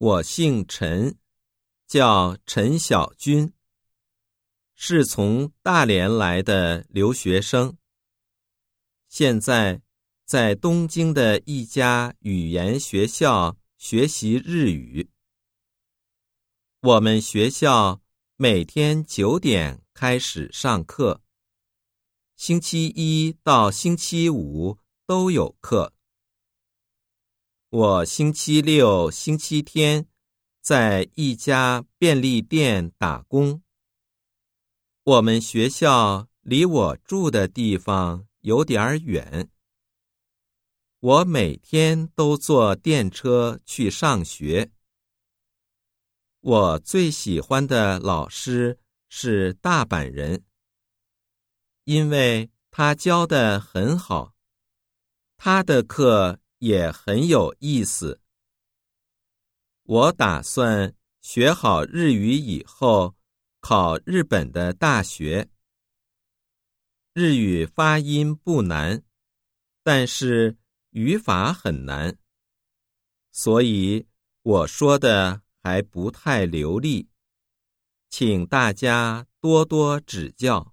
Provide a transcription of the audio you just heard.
我姓陈，叫陈小军，是从大连来的留学生，现在在东京的一家语言学校学习日语。我们学校每天9点开始上课，星期一到星期五都有课。我星期六、星期天在一家便利店打工。我们学校离我住的地方有点远，我每天都坐电车去上学。我最喜欢的老师是大阪人，因为他教得很好，他的课也很有意思。我打算学好日语以后考日本的大学。日语发音不难，但是语法很难，所以我说的还不太流利，请大家多多指教。